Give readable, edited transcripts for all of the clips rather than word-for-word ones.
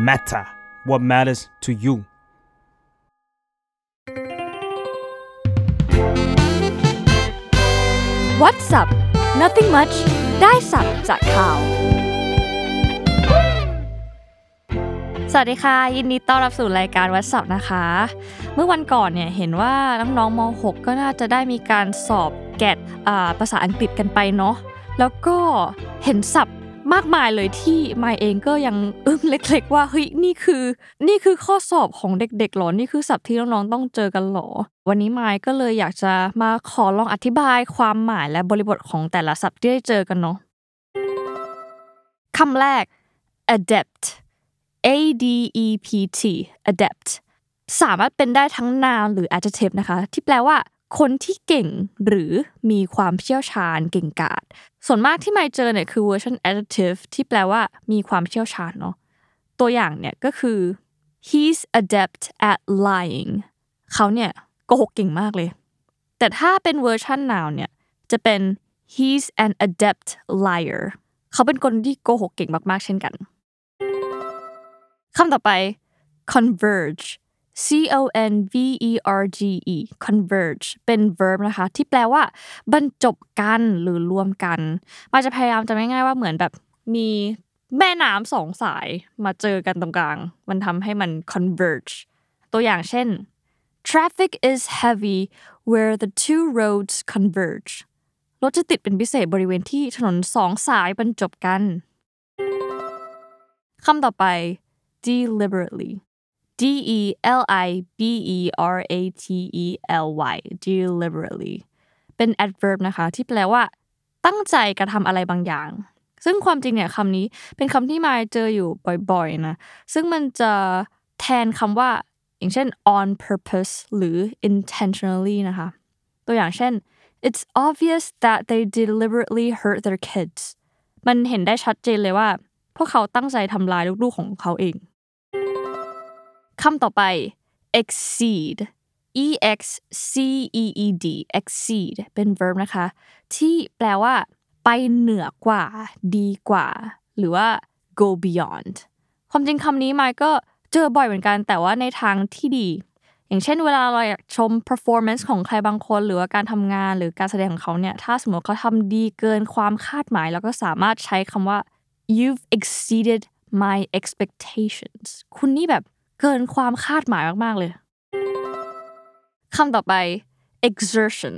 matter what matters to you What's up Nothing much ได้สับจากข่าวสวัสดีค่ะยินดีต้อนรับสู่รายการ What's up นะคะเมื่อวันก่อนเนี่ยเห็นว่าน้องๆม.6 ก็น่าจะได้มีการสอบแกดภาษาอังกฤษกันไปเนาะแล้วก็เห็นศัพท์มากมายเลยที่มายเองก็ยังอึ้งเล็กๆว่าเฮ้ยนี่คือข้อสอบของเด็กๆหรอนี่คือศัพท์ที่น้องๆต้องเจอกันหรอวันนี้มายก็เลยอยากจะมาขอลองอธิบายความหมายและบริบทของแต่ละศัพท์ที่ได้เจอกันเนาะคำแรก adept adept adept สามารถเป็นได้ทั้ง noun หรือ adjective นะคะที่แปลว่าคนที่เก่งหรือมีความเชี่ยวชาญเก่งกาจส่วนมากที่มายเจอเนี่ยคือ version adjective ที่แปลว่ามีความเชี่ยวชาญเนาะตัวอย่างเนี่ยก็คือ he's adept at lying เขาเนี่ยโกหกเก่งมากเลยแต่ถ้าเป็น version noun เนี่ยจะเป็น he's an adept liar เขาเป็นคนที่โกหกเก่งมากๆเช่นกันคำต่อไป converge converge converge เป็น verb นะคะที่แปลว่าบรรจบกันหรือรวมกันมันจะพยายามจะง่ายๆว่าเหมือนแบบมีแม่น้ำสองสายมาเจอกันตรงกลางมันทำให้มัน converge ตัวอย่างเช่น traffic is heavy where the two roads converge รถจะติดเป็นพิเศษบริเวณที่ถนนสองสายบรรจบกันคำต่อไปdeliberately deliberately deliberately เป็น adverb นะคะที่แปลว่าตั้งใจกระทำอะไรบางอย่างซึ่งความจริงเนี่ยคำนี้เป็นคำที่มายเจออยู่บ่อยๆนะซึ่งมันจะแทนคำว่าอย่างเช่น on purpose หรือ intentionally นะคะตัวอย่างเช่น it's obvious that they deliberately hurt their kids มันเห็นได้ชัดเจนเลยว่าพวกเขาตั้งใจทำลายลูกๆของเขาเองคำต่อไป exceed exceed เป็น verb นะคะที่แปลว่าไปเหนือกว่าดีกว่าหรือว่า go beyond ความจริงคำนี้มายก็เจอบ่อยเหมือนกันแต่ว่าในทางที่ดีอย่างเช่นเวลาเราอยากชม performance ของใครบางคนหรือว่าการทำงานหรือการแสดงของเขาเนี่ยถ้าสมมติเขาทำดีเกินความคาดหมายเราก็สามารถใช้คำว่าyou've exceeded my expectations คุณนี่แบบเกินความคาดหมายมากๆเลยคำต่อไป exertion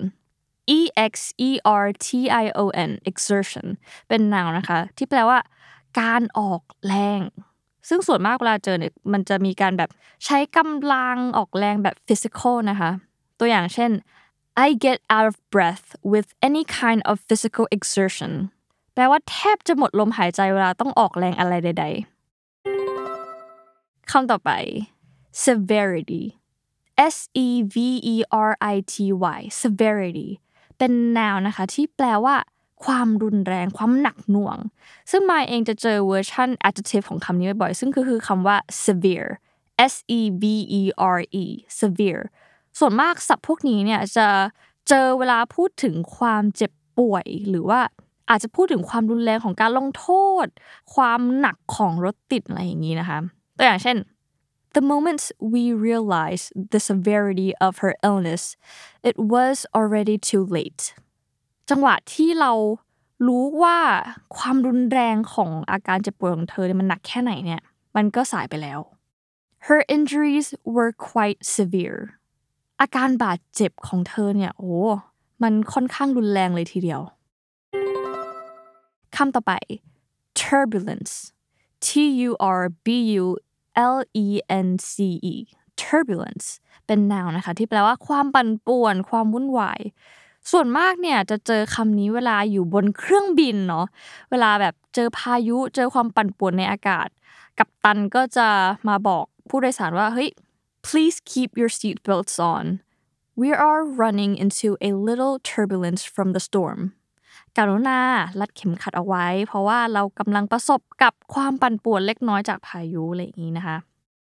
exertion เป็น noun นะคะที่แปลว่าการออกแรงซึ่งส่วนมากเวลาเจอเนี่ยมันจะมีการแบบใช้กำลังออกแรงแบบ physical นะคะตัวอย่างเช่น I get out of breath with any kind of physical exertionแปลว่าแทบจะหมดลมหายใจเวลาต้องออกแรงอะไรใดๆคำต่อไป severity severity เป็น noun นะคะที่แปลว่าความรุนแรงความหนักหน่วงซึ่งมายเองจะเจอเวอร์ชัน adjective ของคำนี้บ่อยๆซึ่งคือคำว่า severe severe ส่วนมากศัพท์พวกนี้เนี่ยจะเจอเวลาพูดถึงความเจ็บป่วยหรือว่าอาจจะพูดถึงความรุนแรงของการลงโทษความหนักของรถติดอะไรอย่างนี้นะคะตัวอย่างเช่นThe moment we realized the severity of her illness, it was already too late. จังหวะที่เรารู้ว่าความรุนแรงของอาการเจ็บป่วยของเธอเนี่ยมันหนักแค่ไหนเนี่ยมันก็สายไปแล้ว Her injuries were quite severe. อาการบาดเจ็บของเธอเนี่ยมันค่อนข้างรุนแรงเลยทีเดียวคำต่อไป turbulence turbulence เป็น noun นะคะที่แปลว่าความปั่นป่วนความวุ่นวายส่วนมากเนี่ยจะเจอคำนี้เวลาอยู่บนเครื่องบินเนาะเวลาแบบเจอพายุเจอความปั่นป่วนในอากาศกัปตันก็จะมาบอกผู้โดยสารว่าเฮ้ย please keep your seat belts on we are running into a little turbulence from the stormกรุณารัดเข็มขัดเอาไว้เพราะว่าเรากำลังประสบกับความปั่นป่วนเล็กน้อยจากพายุอะไรอย่างนี้นะคะ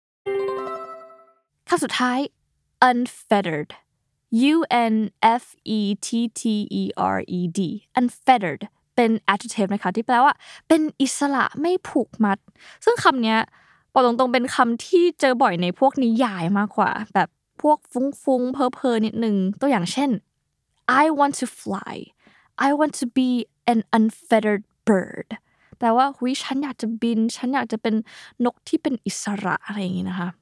คำสุดท้าย unfettered unfettered เป็น adjective นะคะที่แปลว่าเป็นอิสระไม่ผูกมัดซึ่งคำนี้บอกตรงๆเป็นคำที่เจอบ่อยในพวกนิยายมากกว่าแบบพวกฟุ้งๆเพ้อๆนิดนึงตัวอย่างเช่น I want to fly I want to be an unfettered bird แปลว่าหุยฉันอยากจะบินฉันอยากจะเป็นนกที่เป็นอิสระอะไรอย่างงี้นะคะ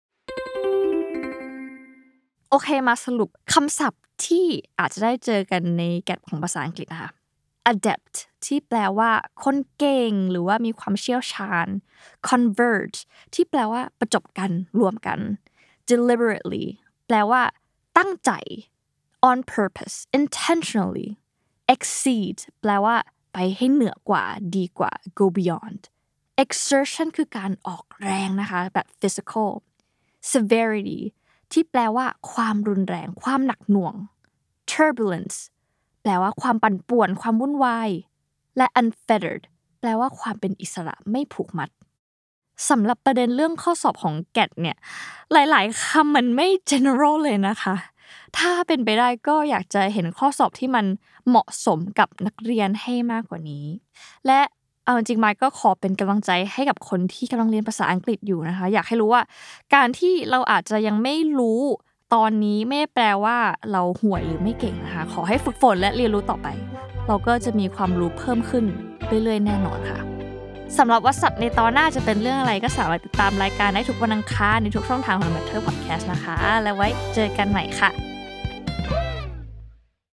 โอเคมาสรุปคำศัพท์ที่อาจจะได้เจอกันในแกดของภาษาอังกฤษนะคะ adept ที่แปลว่าคนเก่งหรือว่ามีความเชี่ยวชาญ converge ที่แปลว่าประจบกันรวมกัน deliberately แปลว่าตั้งใจ on purpose intentionally exceed แปลว่าไปให้เหนือกว่าดีกว่า go beyond exertion คือการออกแรงนะคะแบบ physical severity ที่แปลว่าความรุนแรงความหนักหน่วง turbulence แปลว่าความปั่นป่วนความวุ่นวายและ unfettered แปลว่าความเป็นอิสระไม่ผูกมัดสำหรับประเด็นเรื่องข้อสอบของแกดเนี่ยหลายๆคำมันไม่ general เลยนะคะถ้าเป็นไปได้ก็อยากจะเห็นข้อสอบที่มันเหมาะสมกับนักเรียนให้มากกว่านี้และเอาจริงๆไมค์ก็ขอเป็นกำลังใจให้กับคนที่กำลังเรียนภาษาอังกฤษอยู่นะคะอยากให้รู้ว่าการที่เราอาจจะยังไม่รู้ตอนนี้ไม่ได้แปลว่าเราห่วยหรือไม่เก่งนะคะขอให้ฝึกฝนและเรียนรู้ต่อไปเราก็จะมีความรู้เพิ่มขึ้นเรื่อยๆแน่นอนค่ะสำหรับวอทสัพในตอนหน้าจะเป็นเรื่องอะไรก็สามารถติดตามรายการได้ทุกวันอังคารในทุกช่องทางของ Matter Podcast นะคะแล้วไว้เจอกันใหม่ค่ะ